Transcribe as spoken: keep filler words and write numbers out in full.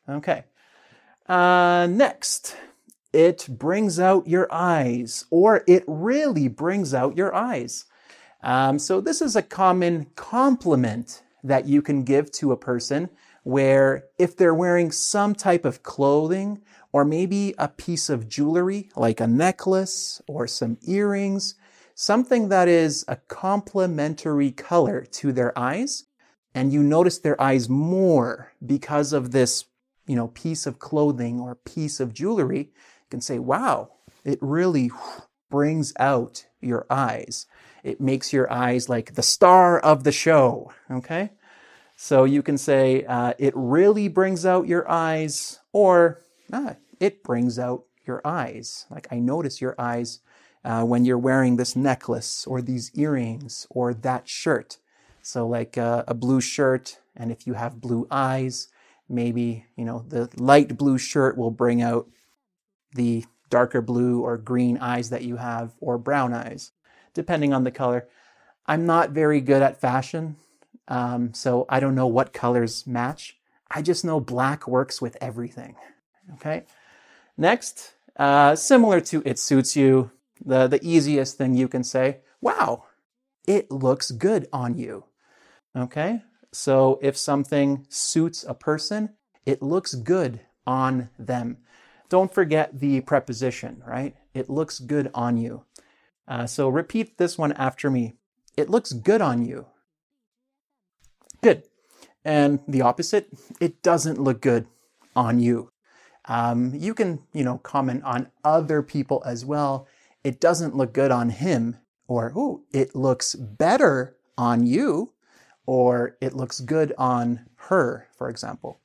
Okay. Uh, next, it brings out your eyes, or it really brings out your eyes. Um, so this is a common compliment that you can give to a person where if they're wearing some type of clothing or maybe a piece of jewelry like a necklace or some earrings, something that is a complementary color to their eyes, and you notice their eyes more because of this, you know, piece of clothing or piece of jewelry, you can say, wow, it really brings out your eyes. It makes your eyes like the star of the show, okay? So you can say, uh, it really brings out your eyes, or ah, it brings out your eyes. Like, I notice your eyes uh, when you're wearing this necklace or these earrings or that shirt. So like uh, a blue shirt, and if you have blue eyes, maybe, you know, the light blue shirt will bring out the darker blue or green eyes that you have, or brown eyes, depending on the color. I'm not very good at fashion, um, so I don't know what colors match. I just know black works with everything, okay? Next, uh, similar to it suits you, the, the easiest thing you can say, wow, it looks good on you, okay? So if something suits a person, it looks good on them. Don't forget the preposition, right? It looks good on you. Uh, so repeat this one after me. It looks good on you. Good. And the opposite, it doesn't look good on you. Um, you can, you know, comment on other people as well. It doesn't look good on him, or, ooh, it looks better on you, or it looks good on her, for example.